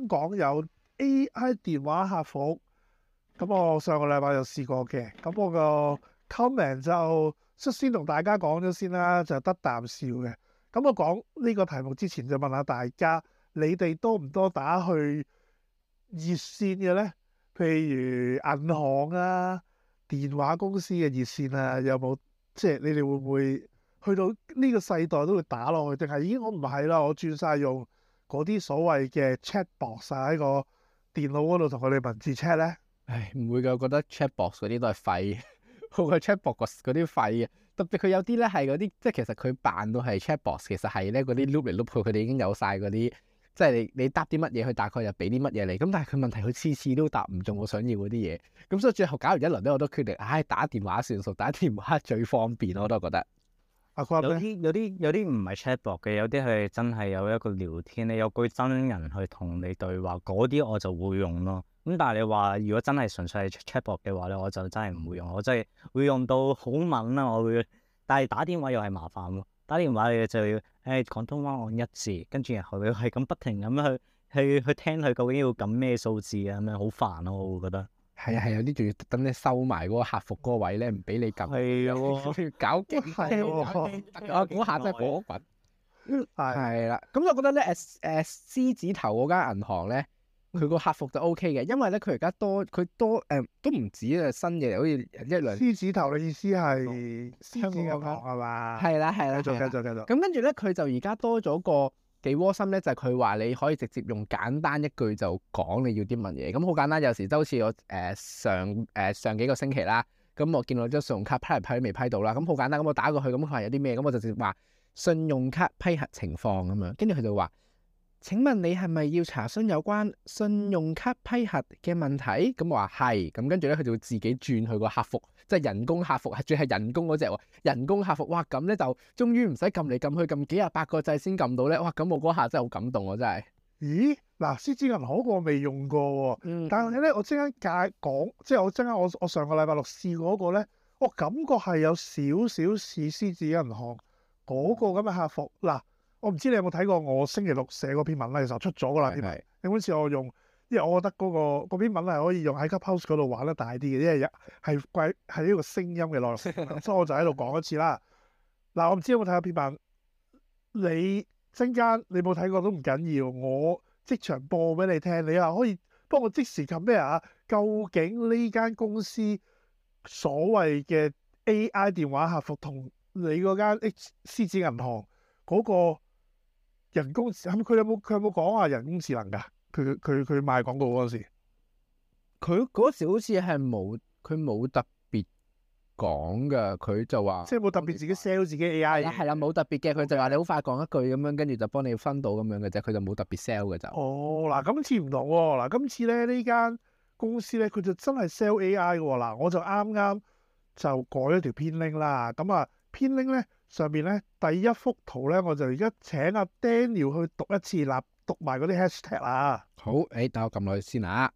港有 AI 電話客服。咁我上個禮拜有試過嘅，咁我個 comment 就率先同大家講咗先啦，就得啖笑嘅。咁我講呢個題目之前就問下大家，你哋多唔多打去熱線嘅咧？譬如銀行啊、電話公司嘅熱線啊，有冇即係你哋會唔會去到呢個世代都會打落去？定係已經我唔係啦，我轉晒用嗰啲所謂嘅 chat box 喺個電腦嗰度同佢哋文字 chat 咧？ 唉，唔會㗎，我覺得 chat box 嗰啲都係廢，好過 chat box 嗰啲廢嘅。特別佢有啲咧係嗰啲，即係其實佢扮到係 chat box，其實係咧嗰啲 loop 嚟 loop 去，佢哋已經有晒嗰啲，即係你答啲乜嘢，佢大概又俾啲乜嘢你。咁但係佢問題，佢次次都答唔中我想要嗰啲嘢。咁所以最後搞完一輪咧，我都決定，打電話算數，打電話最方便，我都覺得。 有啲唔係 chatbot 嘅，有啲係真係有一個聊天，你有句真人去同你對話，嗰啲我就會用咯。咁但係你話如果真係純粹係 chatbot 嘅話咧，我就真係唔會用，我真係會用到好敏啦，我會。但係打電話又係麻煩喎，打電話你就要廣東話按一字，跟住然後你係咁不停咁去聽佢究竟要撳咩數字啊，咁樣好煩咯，我會覺得。 係啊，有啲仲要特登咧收埋嗰個客服嗰個位咧，唔俾你撳。 係喎， 搞勁係喎， 嗰下真係火滾。係啦，咁係我覺得咧獅子頭嗰間銀行咧，佢個客服就 OK 嘅，因為咧佢而家多都唔止啊，新嘢好似一兩。 獅子頭嘅意思係香港銀行係嘛？ 係啦， 繼續。 咁跟住咧，佢就而家多咗個幾窩心咧，就係佢話你可以直接用簡單一句就講你要啲乜嘢。咁好簡單，有時都好似我上幾個星期啦，咁我見到張信用卡批嚟批都未批到啦，咁好簡單，咁我打過去，咁佢話有啲咩，咁我就直接話信用卡批核情況咁樣，跟住佢就話：請問你係咪要查詢有關信用卡批核嘅問題？咁我話係，咁跟住咧佢就會自己轉去個客服，即係人工客服，仲係人工嗰隻喎。人工客服，哇咁咧就終於唔使撳嚟撳去撳幾廿百個掣先撳到咧，哇！咁我嗰下真係好感動喎，真係。 咦？嗱，獅子銀行我未用過喎，但係咧我即刻講，即係我上個禮拜六試過嗰個咧，我感覺係有少少似獅子銀行嗰個咁嘅客服。嗱，我唔知你有冇睇過我星期六寫嗰篇文咧，其實出咗噶啦篇文。你好似我用，因為我覺得嗰篇文係可以用喺 Clubhouse 嗰度玩得大啲嘅，因為係呢個聲音嘅內容，所以我就喺度講一次啦。嗱，我唔知有冇睇過篇文，你陣間你冇睇過都唔緊要，我即場播俾你聽，你又可以幫我即時撳咩啊？究竟呢間公司所謂嘅 AI 電話客服同你嗰間獅子銀行嗰個人工智能，佢有冇講話人工智能㗎？佢賣廣告嗰陣時， 佢嗰時好似係冇特別講㗎，佢就話即係冇特別自己 sell 自己 AI 嘅。 係啦，冇特別嘅，佢就話你好快講一句咁樣，跟住就幫你分到咁樣嘅啫，佢就冇特別 sell 嘅就。 哦，嗱，今次唔同喎，嗱，今次咧呢間公司咧佢就真係 sell AI 嘅喎，嗱，我就啱啱就改咗條編 link 啦，咁啊編 link 咧上邊咧第一幅圖咧，我就而家請阿 Daniel 去讀一次啦，讀埋嗰啲 hashtag 啊。 好，等我撳落去先啊。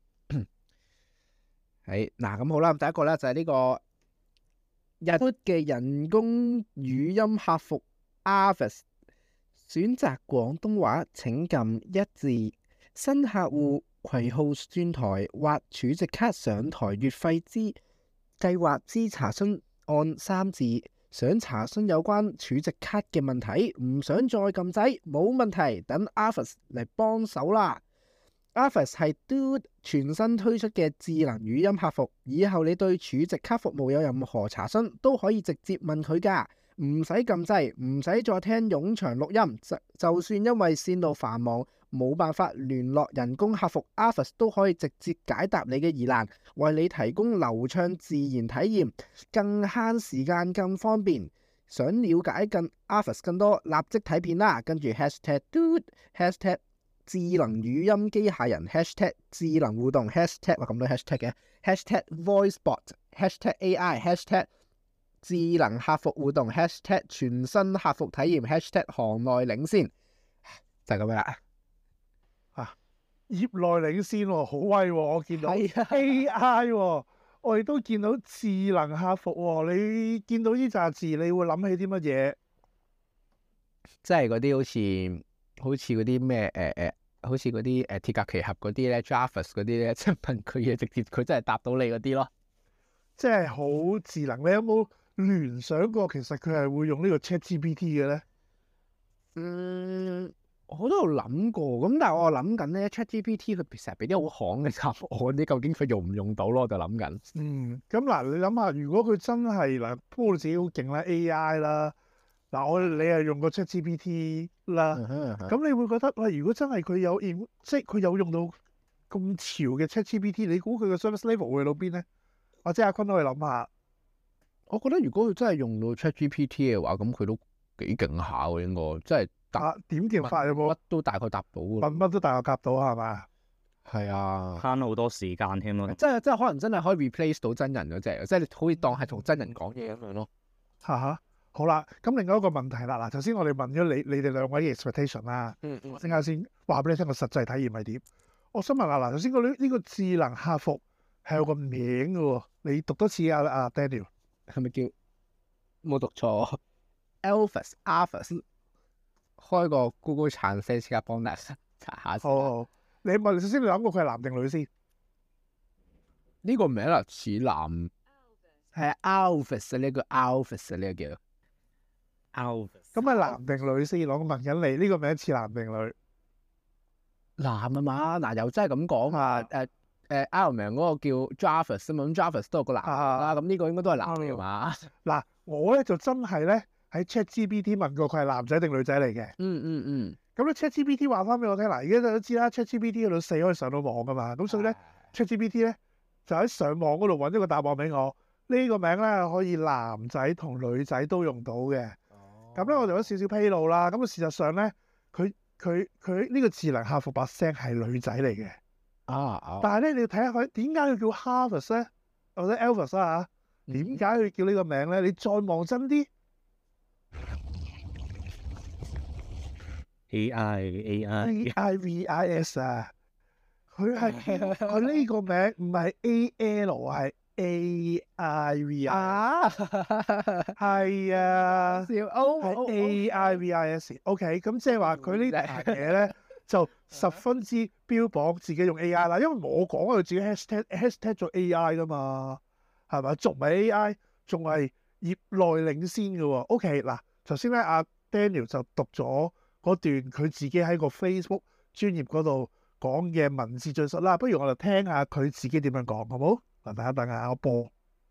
嗱，咁好啦，第一個咧就係呢個日嘅人工語音客服 Arvis， 選擇廣東話請撳一字，新客戶攜號轉台或儲值卡上台月費計劃之查詢按三字，想查詢有關儲值卡嘅問題，唔想再撳掣，冇問題，等 Arvis 嚟幫手啦。Arvis 係 Dude 全新推出嘅智能語音客服，以後你對儲值卡服務有任何查詢，都可以直接問佢㗎，唔使撳掣，唔使再聽冗長錄音。就算因為線路繁忙，冇辦法聯絡人工客服 Arvis 都可以直接解答你嘅疑難，為你提供流暢自然體驗，更慳時間，更方便。想了解Arvis 更多，立即睇片啦，跟住 #Dude #智能語音機械人 #智能互動 #咁多 hashtag 嘅 #voicebot #AI #智能客服互動 #全新客服體驗 #行內領先，就係咁樣啦。 業內領先喎，好威喎！我見到 AI 喎，我亦都見到智能客服喎。你見到呢紮字，你會諗起啲乜嘢？ 即係嗰啲好似嗰啲咩好似嗰啲鐵甲奇俠嗰啲咧 Jarvis 嗰啲咧，即係問佢嘢直接佢真係答到你嗰啲咯。 即係好智能。你有冇聯想過其實佢係會用呢個 ChatGPT 嘅咧？ 我都有諗過，咁但係我諗緊咧 ChatGPT 佢成日俾啲好行嘅答案，啲究竟佢用唔用到咯？我就諗緊。 咁嗱，你諗下，如果佢真係嗱，不過你自己好勁啦 AI 啦，嗱你係用過 ChatGPT 啦，咁你會覺得喂，如果真係佢有即係佢有用到咁潮嘅 ChatGPT，你估佢嘅 service level 會去到邊咧？或者阿坤可以諗下。 我覺得如果佢真係用到 ChatGPT 嘅話，咁佢都幾勁下喎，應該真係答點叫法有冇？ 乜都大概答到嘅。 乜都大概答到係嘛？ 係啊， 慳好多時間添咯。 即係可能真係可以 replace 到真人嗰隻，即係你可以當係同真人講嘢咁樣咯。 好啦，咁另外一個問題啦，嗱，頭先我哋問咗你哋兩位嘅 expectation 啦，我陣間先話俾你聽個實際體驗係點。我想問下嗱，頭先呢個智能客服係有個名嘅喎，你讀多次啊 Daniel， 係咪叫冇讀錯 Alphas？ 開個 Google Translate 即刻幫大家查下先。 好，你問首先你諗過佢係男定女先？ 呢個名啊似男，係 Alphas 呢個 Alphas 呢個叫 Alphas。 咁係男定女先？我問緊你呢個名似男定女？ 男啊嘛，嗱又真係咁講啊，Iron Man 嗰個叫 Jarvis 啊嘛，咁 Jarvis 都有個男啦，咁呢個應該都係男嚟嘛。嗱，我咧就真係咧喺 ChatGPT 問過佢係男仔定女仔嚟嘅。咁咧 ChatGPT 話翻俾我聽，嗱，而家大家都知啦，ChatGPT 嗰度4可以上到網噶嘛，咁所以咧 ChatGPT 咧就喺上網嗰度揾咗個答案俾我。呢個名咧可以男仔同女仔都用到嘅。咁咧我就有少少披露啦。咁啊事實上咧，佢呢個智能客服把聲係女仔嚟嘅。但係咧你要睇下佢點解佢叫 Harvest 咧，或者 Elvis 啊嚇？點解佢叫呢個名咧？你再望真啲 AIVIS 啊，佢呢個名唔係 AL 係 AIVIS 係啊，係 AIVIS。OK， 咁即係話佢呢樣嘢咧就十分之標榜自己用 AI 啦，因為我講佢自己 hashtag 咗 AI 噶嘛，係咪？仲唔係 AI，仲係業內領先嘅喎。OK， 嗱，頭先咧阿 Daniel 就讀咗嗰段佢自己喺個 Facebook 專頁嗰度講嘅文字敘述啦，不如我哋聽下佢自己點樣講，好冇？嗱，等一等啊，我播。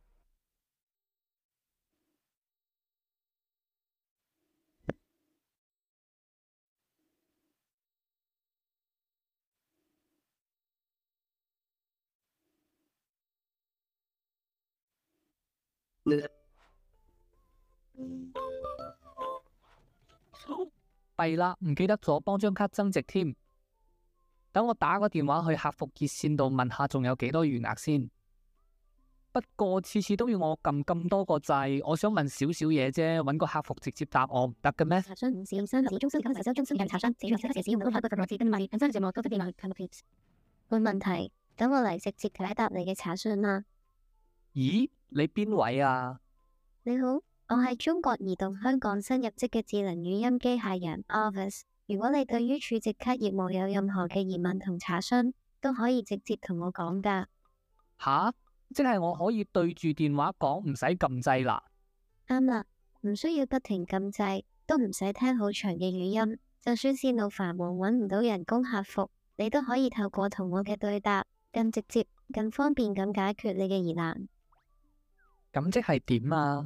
弊啦，唔記得咗幫張卡增值添。等我打個電話去客服熱線度問下仲有幾多餘額先。不過次次都要我撳咁多個掣，我想問少少嘢啫，揾個客服直接答我唔得嘅咩？ 查詢使用商業中心及維修中心嘅查詢，只用7使用到海龜服務器嘅問題，本身節目都不便來 comment。冇問題，等我嚟直接解答你嘅查詢啦。 咦，你邊位啊？ 你好，我係中國移動香港新入職嘅智能語音機械人 Office。如果你對於儲值卡業務有任何嘅疑問同查詢，都可以直接同我講㗎。 吓？即係我可以對住電話講，唔使撳掣啦。 啱啦，唔需要不停撳掣，都唔使聽好長嘅語音。就算線路繁忙揾唔到人工客服，你都可以透過同我嘅對答，更直接、更方便咁解決你嘅疑難。 咁即係點啊？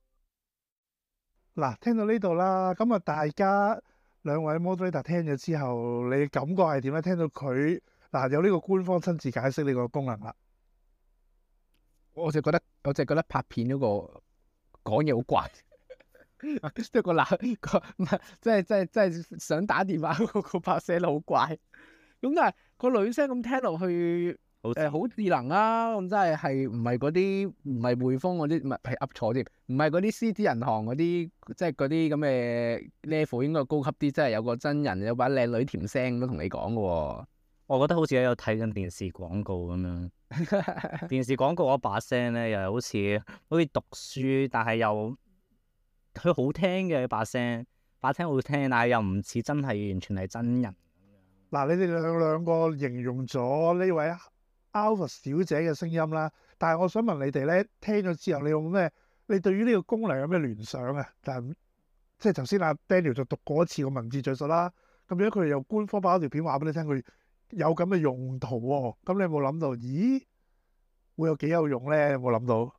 嗱，聽到呢度啦，咁啊，大家兩位 moderator 聽咗之後，你嘅感覺係點咧？聽到佢有呢個官方親自解釋呢個功能啦。 我就覺得拍片嗰個講嘢好怪，即係個唔係，即係想打電話嗰個拍聲好怪。咁但係個女聲咁聽落去，好智能啊！咁真係唔係嗰啲唔係匯豐嗰啲，唔係噏錯添，唔係嗰啲獅子銀行嗰啲，即係嗰啲咁嘅 level 應該高級啲，真係有個真人有把靚女甜聲都同你講嘅喎。我覺得好似有睇緊電視廣告咁樣。電視廣告嗰把聲咧，又係好似讀書，但係又佢好聽嘅把聲好聽，但係又唔似真係完全係真人。 嗱，你哋兩個形容咗呢位 Alpha 小姐嘅聲音啦，但係我想問你哋咧，聽咗之後你有咩？你對於呢個功能有咩聯想啊？即係頭先阿 Daniel 就讀過一次個文字敘述啦，咁樣佢哋又官方拍咗條片話俾你聽，佢有咁嘅用途喎。咁你有冇諗到？咦，會有幾有用咧？有冇諗到？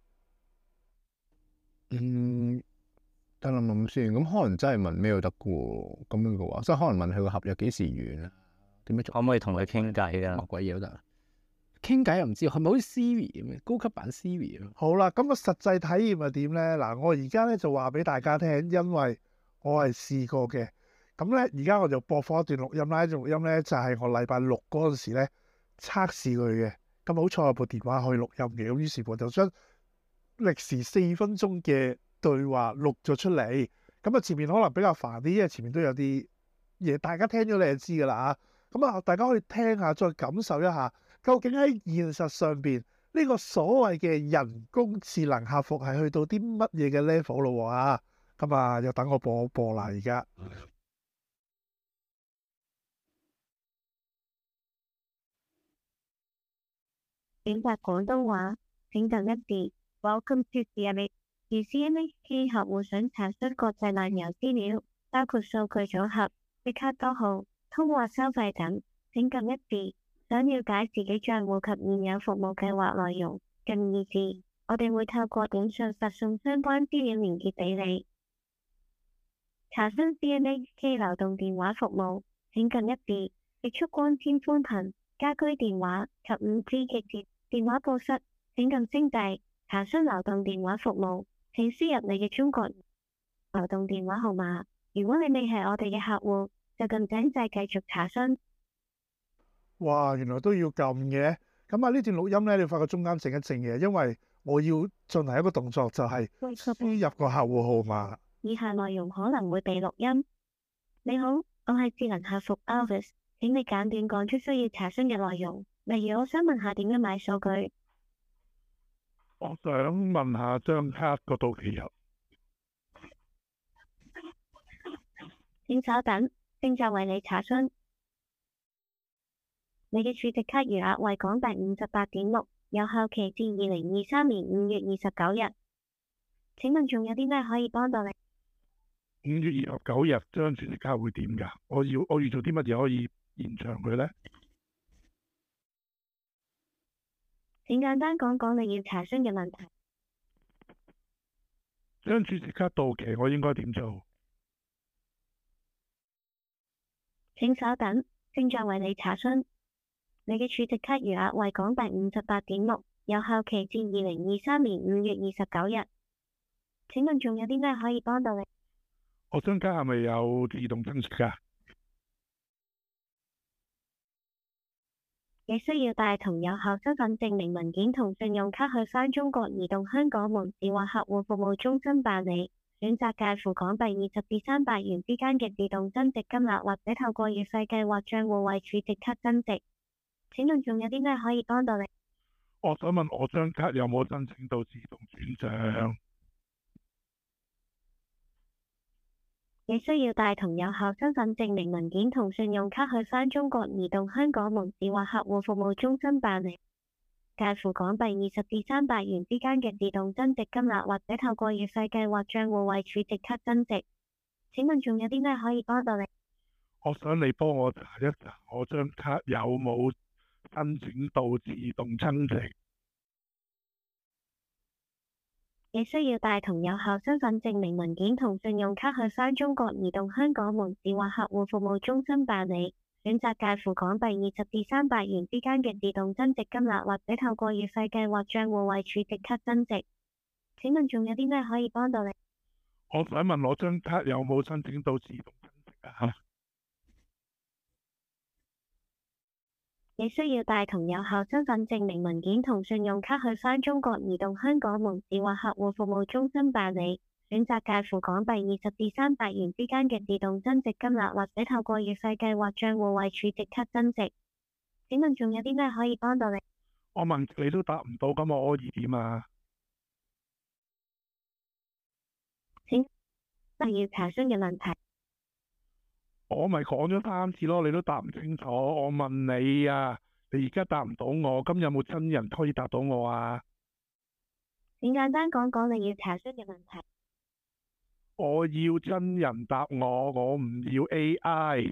等諗諗先。咁可能真係問咩都得嘅喎。咁樣嘅話，即係可能問佢個合約幾時完啊？點樣做？ 可唔可以同佢傾偈啊？ 乜鬼嘢都得。 傾偈又唔知，係咪好似 Siri 咁嘅高級版 Siri 啊？ 好啦，咁個實際體驗係點咧？嗱，我而家咧就話俾大家聽，因為我係試過嘅。咁咧，而家我就播放一段錄音啦。呢段錄音咧就係我禮拜六嗰陣時咧測試佢嘅。咁好彩有部電話可以錄音嘅，咁於是乎就將歷時4分鐘嘅對話錄咗出嚟。咁啊，前面可能比較煩啲，因為前面都有啲嘢，大家聽咗你就知㗎啦嚇。咁啊，大家可以聽下，再感受一下，究竟喺現實上邊呢個所謂嘅人工智能客服係去到啲乜嘢嘅 level 咯啊？咁啊，又等我播啦，而家。 選擇廣東話，請撳1字。Welcome to CMA。如 CMA 客戶想查詢國際漫遊資料，包括數據組合、月卡多號、通話收費等，請撳1字。想了解自己帳戶及現有服務計劃內容，撳2字。我哋會透過短信發送相關資料連結俾你。查詢 CMA 流動電話服務，請撳1字。極速光纖寬頻、家居電話及5G 極節電話報失，請撳星幣。查詢流動電話服務，請輸入你嘅中國流動電話號碼。如果你未係我哋嘅客戶，就撳井掣繼續查詢。 哇，原來都要撳嘅。咁啊，呢段錄音咧，你發覺中間靜一靜嘅，因為我要進行一個動作，就係輸入個客戶號碼。 以下內容可能會被錄音。你好，我係智能客服 Alvis， 請你簡短講出需要查詢嘅內容。例如，我想問下點樣買數據。 我想問下張卡個到期日。 請稍等，正在為你查詢。你嘅儲值卡餘額為港幣58.6，有效期至2023年5月29日。請問仲有啲咩可以幫到你 ？5月29日張儲值卡會點㗎？我要做啲乜嘢可以延長佢呢？ 請簡單講講你要查詢嘅問題。 張儲值卡到期，我應該點做？ 請稍等，正在為你查詢。你嘅儲值卡餘額為港幣58.6，有效期至2023年5月29日。請問仲有啲咩可以幫到你？ 我張卡係咪有自動增值㗎？ 你需要帶同有效身份證明文件同信用卡去返中國移動香港門市或客戶服務中心辦理，選擇介乎港幣20至300元之間嘅自動增值金額，或者透過月費計劃帳戶為儲值卡增值。請問仲有啲咩可以幫到你？ 我想問我張卡有冇申請到自動轉賬？ 你需要帶同有效身份證明文件同信用卡去返中國移動香港門市或客戶服務中心辦理，介乎港幣20至300元之間嘅自動增值金額，或者透過月費計劃帳戶為儲值卡增值。請問仲有啲咩可以幫到你？ 我想你幫我查一查我張卡有冇申請到自動增值。 你需要帶同有效身份證明文件同信用卡去返中國移動香港門市或客戶服務中心辦理，選擇介乎港幣20至300元之間嘅自動增值金額，或者透過月費計劃帳戶為儲值卡增值。請問仲有啲咩可以幫到你？ 我想問我張卡有冇申請到自動增值啊？ 你需要帶同有效身份證明文件同信用卡去返中國移動香港門市或客戶服務中心辦理，選擇介乎港幣20至300元之間嘅自動增值金額，或者透過月費計劃帳戶為儲值卡增值。請問仲有啲咩可以幫到你？ 我問你都答唔到，咁我可以點啊？ 請不要查詢嘅問題。 我咪講咗3次咯，你都答唔清楚。我問你啊，你而家答唔到我，咁有冇真人可以答到我啊？ 請簡單講講你要查詢嘅問題。 我要真人答我唔要 AI。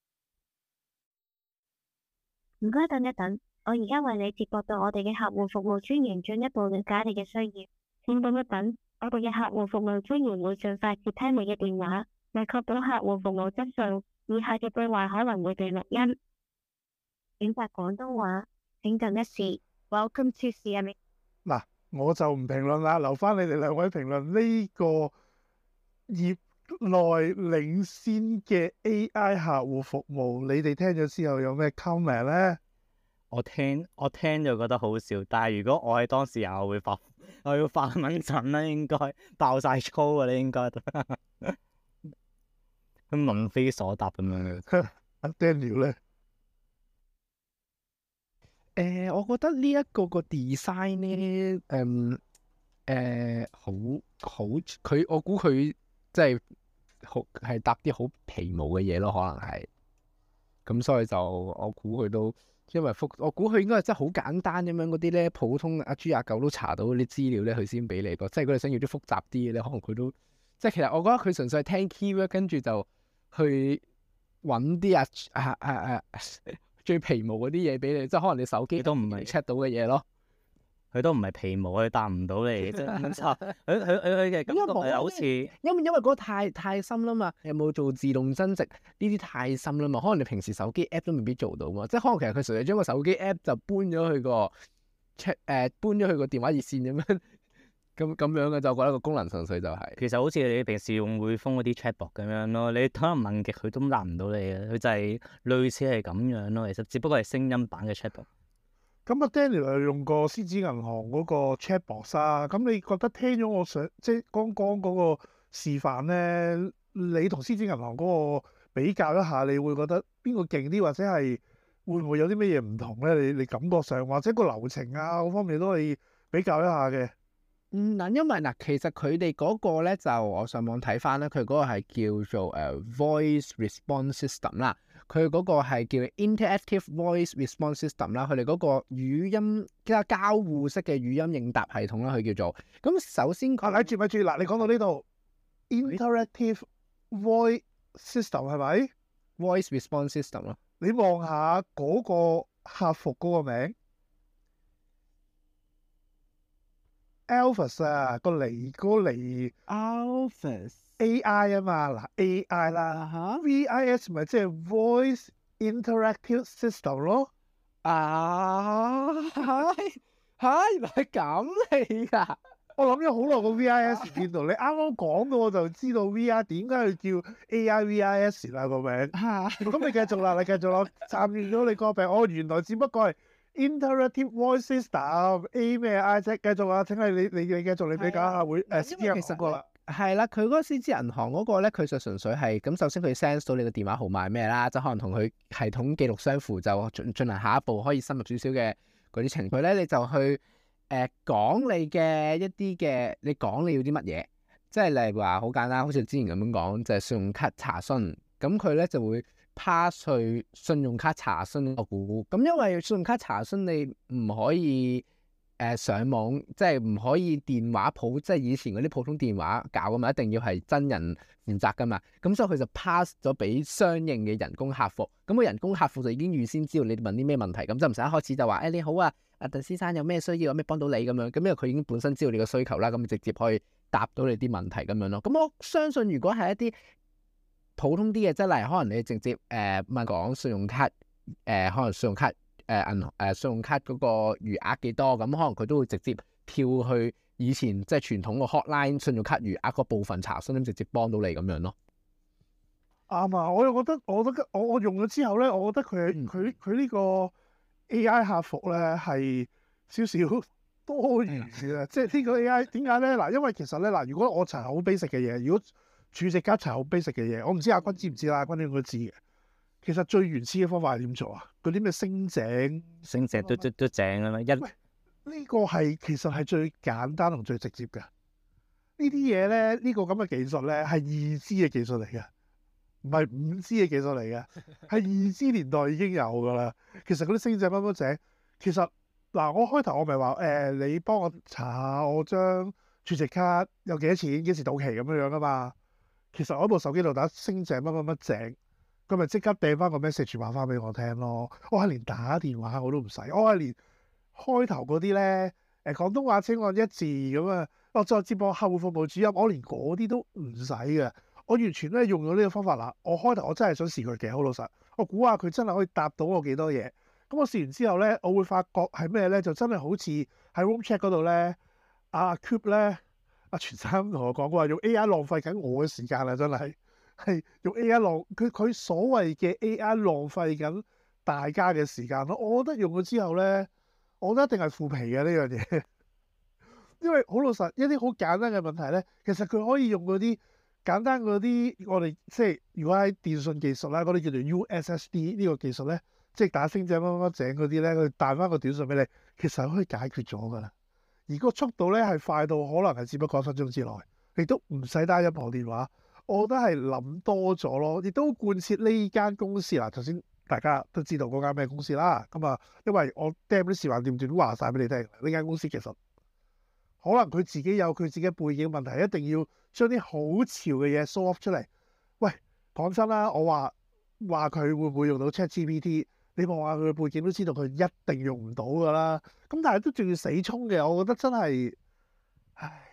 唔該，等一等，我而家為你接駁到我哋嘅客戶服務專員，進一步了解你嘅需要。請等一等，我哋嘅客戶服務專員會盡快接聽你嘅電話。為確保客戶服務質素，以下嘅對話可能會被錄音。選擇廣東話，請等一時。Welcome to CME。 嗱，我就唔評論啦，留翻你哋兩位評論呢個業內領先嘅 AI 客戶服務，你哋聽咗之後有咩 comment 咧？ 我聽就覺得好笑，但係如果我係當事人，我要發蚊疹啦，應該爆晒粗啊！你應該咁問非所答咁樣嘅。 阿 Daniel 咧？ 我覺得呢一個 design 咧，我估佢即係好係搭啲好皮毛嘅嘢咯，可能係。咁所以就我估佢都因為我估佢應該係真係好簡單咁樣嗰啲咧，普通阿豬阿狗都查到啲資料咧，佢先俾你咯。即係如果你想要啲複雜啲嘅咧，可能佢都即係其實我覺得佢純粹係聽 keyword 跟住就去揾啲最皮毛嗰啲嘢俾你，即係可能你手機都唔係 check 到嘅嘢咯。 佢都唔係皮毛，佢答唔到你，即係佢嘅感覺係好似因為嗰個太深啦嘛，有冇做自動增值呢啲太深啦嘛，可能你平時手機 app 都未必做到嘛，即係可能其實佢純粹將個手機 app 就搬咗去個 check 搬咗去個電話熱線咁樣咁樣嘅，就覺得個功能純粹就係其實好似你平時用匯豐嗰啲 chatbot 咁樣咯，你可能問極佢都答唔到你嘅，佢就係類似係咁樣咯。其實只不過係聲音版嘅 chatbot。 咁啊 Daniel 又用過獅子銀行嗰個 chatbot 啊，咁你覺得聽咗我上即係剛剛嗰個示範咧，你同獅子銀行嗰個比較一下，你會覺得邊個勁啲，或者係會唔會有啲咩嘢唔同咧？你感覺上或者個流程啊嗰方面都可以比較一下嘅。 嗱，因為嗱，其實佢哋嗰個咧就我上網睇翻咧，佢嗰個係叫做voice response system 啦，佢嗰個係叫 interactive voice response system 啦，佢哋嗰個語音交互式嘅語音應答系統啦，佢叫做。咁首先咪住，嗱，你講到呢度 interactive voice system 係咪 voice response system 咯？ 你望下嗰個客服嗰個名。Alphas 啊，個嚟 Alphas AI 啊嘛，嗱 AI 啦，VIS 咪即係 Voice Interactive System 咯。 原來係咁嚟㗎！ 我諗咗好耐個 VIS 見到，你啱啱講到我就知道 VR 點解要叫 AI VIS 啦個名。咁你繼續啦，參與咗你個病，原來只不過係。Interactive Voice System A 咩 I 啫？繼續啊！請你繼續，你比較下會獅子銀行個啦。 係啦，佢嗰個獅子銀行嗰個咧，佢就純粹係咁。首先佢 sense 到你個電話號碼係咩啦，就可能同佢系統記錄相符，就進行下一步可以深入少少嘅嗰啲程序咧。你就去講你嘅一啲嘅，你講你要啲乜嘢，即係例如話好簡單，好似之前咁樣講，就係信用卡查詢。咁佢咧就會 pass 去信用卡查詢個股，咁因為信用卡查詢你唔可以上網，即係唔可以電話簿，即係以前嗰啲普通電話搞噶嘛，一定要係真人負責噶嘛，咁所以佢就 pass 咗俾相應嘅人工客服，咁個人工客服就已經預先知道你問啲咩問題，咁就唔使一開始就話你好啊，鄧先生有咩需要，有咩幫到你咁樣，咁因為佢已經本身知道你個需求啦，咁直接可以答到你啲問題咁樣咯。咁我相信如果係一啲普通啲嘅，即係例如可能你直接問講信用卡可能信用卡銀行信用卡嗰個餘額幾多，咁可能佢都會直接跳去以前即係傳統個 hotline 信用卡餘額嗰部分查詢，咁直接幫到你咁樣咯。 啱啊！我又覺得我用咗之後咧，我覺得佢呢個 AI 客服咧係少少多餘嘅，即係呢個 AI 點解咧？嗱，因為其實咧嗱，如果我查好 basic 嘅嘢，如果儲值卡查好 basic 嘅嘢，我唔知阿君知唔知啦？阿君應該知嘅。其實最原始嘅方法係點做啊？嗰啲咩升井都正啊嘛！ 呢個係其實係最簡單同最直接嘅。呢啲嘢咧，呢個咁嘅技術咧係易知嘅技術嚟嘅。 唔係5G 嘅技術嚟嘅，係2G 年代已經有噶啦。其實嗰啲星仔乜乜井，其實嗱，我開頭我咪話你幫我查下我張儲值卡有幾多錢，幾時到期咁樣樣噶嘛。其實我喺部手機度打星井乜乜乜井，佢咪即刻掟翻個 message 話翻俾我聽咯。我係連打電話我都唔使，我係連開頭嗰啲咧廣東話請按1字咁啊，我再接駁客戶服務主任，我連嗰啲都唔使嘅。我完全咧用咗呢個方法啦。我開頭我真係想試佢嘅，好老實。我估下佢真係可以答到我幾多嘢。咁我試完之後咧，我會發覺係咩咧？就真係好似喺 room chat 嗰度咧，阿 Cube 咧，阿全生同我講過話，用 AI 浪費緊我嘅時間啦，真係用 AI 佢所謂嘅 AI 浪費緊大家嘅時間咯。我覺得用咗之後咧，我覺得一定係負皮嘅呢樣嘢，因為好老實，一啲好簡單嘅問題咧，其實佢可以用嗰啲簡單嗰啲，我哋即係如果喺電信技術啦，嗰啲叫做 USSD 呢個技術咧，即係打星井乜乜井嗰啲咧，佢彈翻個短信俾你，其實可以解決咗噶啦。而個速度咧係快到可能係只不過1分鐘之內，亦都唔使打任何電話。我覺得係諗多咗咯，亦都貫徹呢間公司啦。頭先大家都知道嗰間咩公司啦，咁啊，因為我 damn 啲時話掂斷話晒俾你聽，呢間公司其實可能佢自己有佢自己背景問題，一定要將啲好潮嘅嘢 show off 出嚟。喂，講真啦，我話佢會唔會用到 ChatGPT？你望下佢嘅背景都知道佢一定用唔到㗎啦。咁但係都仲要死衝嘅，我覺得真係，唉。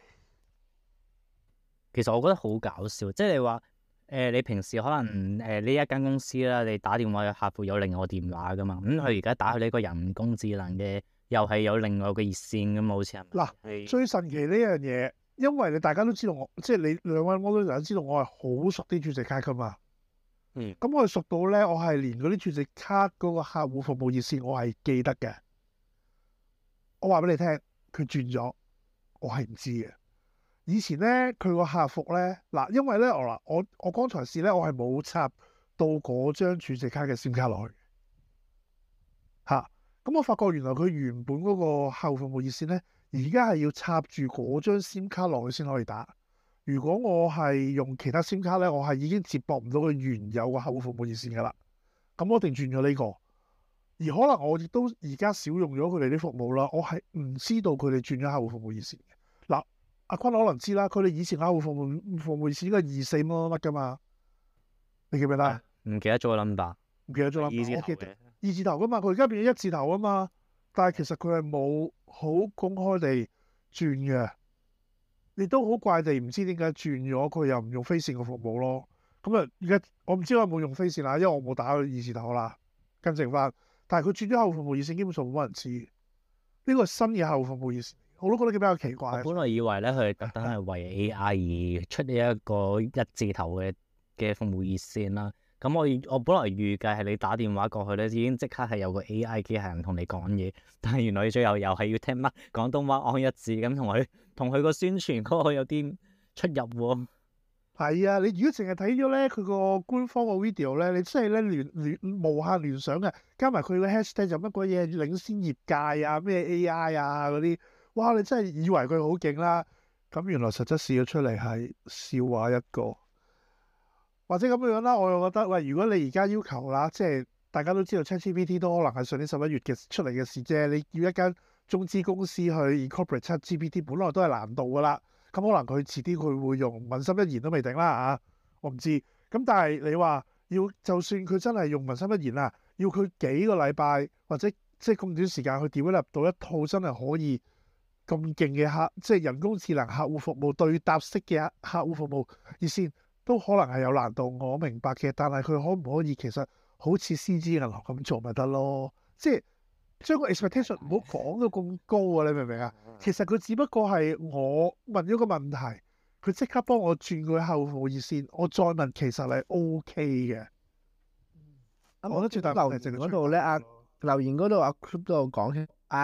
其實我覺得好搞笑，即係你話你平時可能呢一間公司啦，你打電話去客服有另外個電話㗎嘛，咁佢而家打去呢個人工智能嘅，又係有另外個熱線㗎嘛，好似係咪？ 嗱，最神奇呢樣嘢，因為你大家都知道我，即係你兩位我都知道我係好熟啲儲值卡㗎嘛。咁我係熟到咧，我係連嗰啲儲值卡嗰個客戶服務熱線我係記得嘅。我話俾你聽，佢轉咗，我係唔知嘅。以前咧，佢個客服咧，嗱，因為咧我剛才試咧，我係冇插到嗰張儲值卡嘅 SIM 卡落去嚇。咁我發覺原來佢原本嗰個客戶服務熱線咧，而家係要插住嗰張 SIM 卡落去先可以打。如果我係用其他 SIM 卡咧，我係已經接駁唔到佢原有個客戶服務熱線噶啦。咁我一定轉咗呢個。而可能我亦都而家少用咗佢哋啲服務啦，我係唔知道佢哋轉咗客戶服務熱線嘅。嗱，阿坤可能知啦，佢哋以前客戶服務熱線應該係24乜乜乜噶嘛？你記唔記得？ 唔記得咗個 number， 唔記得咗 number。 我記得 2字頭噶嘛，佢而家變咗1字頭啊嘛。但係其實佢係冇好公開地轉嘅。你都好怪地唔知點解轉咗，佢又唔用飛線嘅服務咯。咁啊，而家我唔知我有冇用飛線啦，因為我冇打去2字頭啦，跟正翻。但係佢轉咗客戶服務熱線，基本上冇乜人知。呢個係新嘅客戶服務熱線，我都覺得比較奇怪。 我本來以為咧，佢特登係為 AI 而出呢一個1字頭嘅服務熱線啦。咁我本來預計係你打電話過去咧，已經即刻係有個 AI 機械人同你講嘢，但係原來你最後又係要聽乜廣東話按1字咁，同佢個宣傳嗰個有啲出入喎。係啊，你如果淨係睇咗咧佢個官方個 video 咧，你真係咧無限聯想嘅，加埋佢個 hashtag 就乜鬼嘢領先業界啊，咩 AI 啊嗰啲，哇！你真係以為佢好勁啦，咁原來實質試咗出嚟係笑話一個。或者咁樣啦，我又覺得喂，如果你而家要求啦，即係大家都知道 ChatGPT 都可能係上年11月嘅出嚟嘅事啫。你要一間中資公司去 incorporate ChatGPT，本來都係難度噶啦。咁可能佢遲啲佢會用文心一言都未定啦嚇，我唔知。咁但係你話要，就算佢真係用文心一言啊，要佢幾個禮拜或者即係咁短時間去 develop 到一套真係可以咁勁嘅即係人工智能客戶服務對答式嘅客戶服務熱線。都可能係有難度，我明白嘅。但係佢可唔可以其實好似 CG 銀行咁做咪得咯？即係將個 expectation 唔好講到咁高啊！你明唔明啊？其實佢只不過係我問咗個問題，佢即刻幫我轉個客戶服務熱線，我再問其實係 OK 嘅。我覺得最大留言嗰度咧，留言嗰度阿 Club 都有講起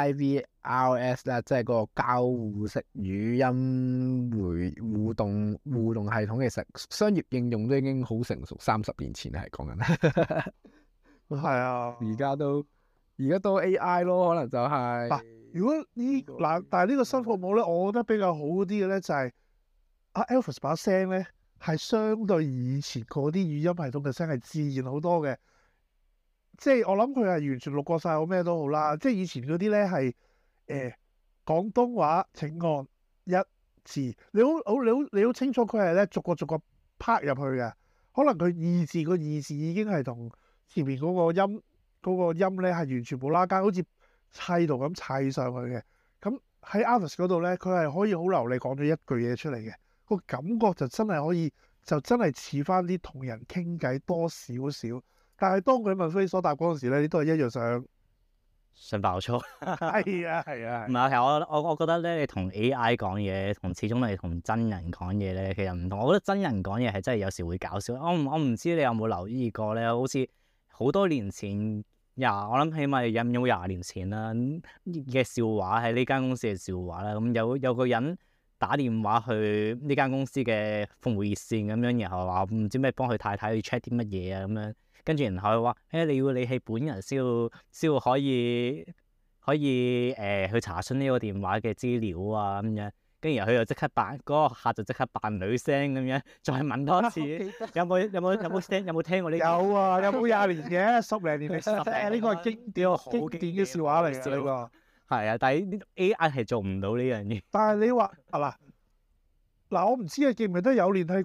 IVRS 啦，即係個交互式語音互動系統，其實商業應用都已經好成熟，30年前係講緊。 係啊， 而家都 AI 咯，可能就係、 嗱。如果但係呢個新服務咧，我覺得比較好啲嘅咧就係阿 Alvis 把聲咧係相對以前嗰啲語音系統嘅聲係自然好多嘅。即係我諗佢係完全錄過晒我咩都好啦。即係以前嗰啲咧係廣東話請按一字，你好清楚佢係咧逐個拍入去嘅。可能佢二字個二字已經係同前面嗰個音咧係完全冇拉更，好似砌圖咁砌上去嘅。咁喺 Avis 嗰度咧，佢係可以好流利講咗一句嘢出嚟嘅，個感覺就真係可以，就真係似翻啲同人傾偈多少少。但係當佢問非所答嗰陣時咧，你都係一樣想爆粗。 係啊係啊。 唔係，其實我覺得咧，你同 AI 講嘢，始終你同真人講嘢咧，其實唔同。我覺得真人講嘢係真係有時會搞笑。我唔知你有冇留意過咧，好似好多年前我諗起碼有20年前啦嘅笑話，喺呢間公司嘅笑話啦。咁有個人打電話去呢間公司嘅服務熱線咁樣，然後話唔知咩幫佢太太去 check 啲乜嘢啊咁樣。跟住然後佢話：你要你係本人先要可以去查詢呢個電話嘅資料啊咁樣。跟住然後佢就即刻扮嗰個客就即刻扮女聲咁樣，再問多次有冇聽過呢？ 有啊，有冇20年嘅10零年歷史呢個係經典嘅笑話嚟嘅呢個。 係啊，但係呢 AI 係做唔到呢樣嘢。 但係你話嗱，我唔知你記唔記得有年係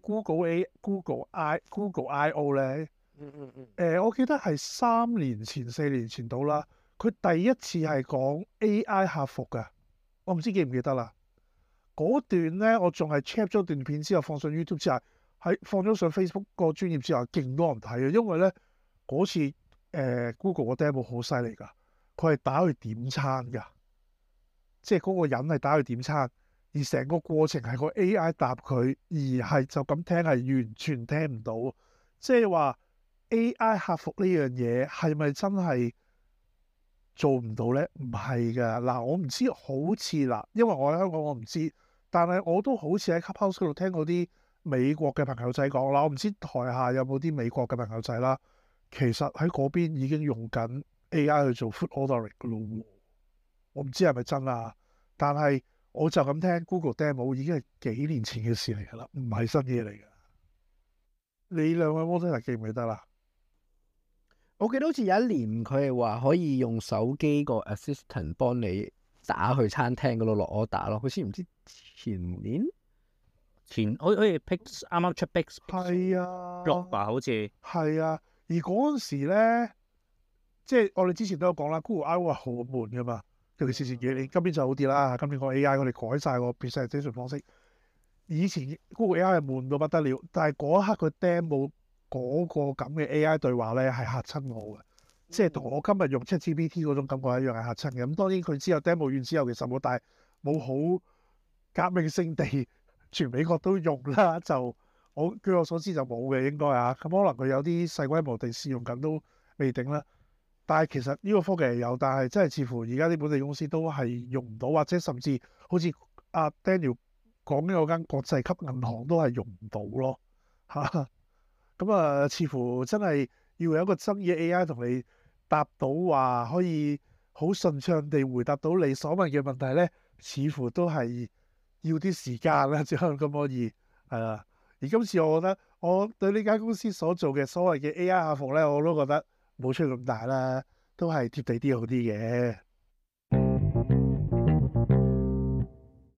Google I/O 咧？我記得係3年前、4年前到啦。佢第一次係講 AI 客服㗎，我唔知記唔記得啦。嗰段咧，我仲係 check 咗段片之後放上 YouTube 之後，放咗上 Facebook 個專頁之後，勁多人睇嘅。因為咧嗰次Google 個 demo 好犀利㗎，佢係打去點餐㗎，即係嗰個人係打去點餐，而成個過程係個 AI 答佢，而係就咁聽係完全聽唔到。即係話 AI 客服呢樣嘢係咪真係做唔到呢？唔係㗎。嗱，我唔知，好似嗱，因為我喺香港我唔知，但係我都好似喺 Clubhouse 嗰度聽過啲美國嘅朋友仔講啦。我唔知台下有冇啲美國嘅朋友仔啦。其實喺嗰邊已經用緊 AI 去做 food ordering 㗎咯。我唔知係咪真啊，但係我就咁聽 Google demo 已經係幾年前嘅事嚟㗎啦，唔係新嘢嚟㗎。你兩位 moderator 記唔記得啦？ 我記得好似有一年佢係話可以用手機個 assistant 幫你打去餐廳嗰度落 order 咯，好似唔知前年好似 Pix 啱啱出 Pix 係啊 6吧，好似係啊。而嗰陣時咧，即係我哋之前都有講啦，Google I/O 係好悶噶嘛，尤其是前幾年，今年就好啲啦。今年個 AI 我哋改晒個 presentation 方式。以前 Google AI 係悶到不得了，但係嗰一刻佢 demo 嗰個咁嘅 AI 對話咧係嚇親我嘅，即係同我今日用 ChatGPT 嗰種感覺一樣係嚇親嘅。咁當然佢之後 demo 完之後其實冇好革命性地全美國都用啦，就據我所知就冇嘅應該啊。咁可能佢有啲細規模地試用緊都未定啦。但係其實呢個科技係有，但係真係似乎而家啲本地公司都係用唔到，或者甚至好似阿 Daniel 講緊嗰間國際級銀行都係用唔到咯嚇。咁啊，似乎真係要有一個真嘅 AI 同你答到話，可以好順暢地回答到你所問嘅問題咧，似乎都係要啲時間啦，只可以係啦。而今次我覺得我對呢間公司所做嘅所謂嘅 AI 客服咧，我都覺得冇出咁大啦，都係貼地啲好啲嘅。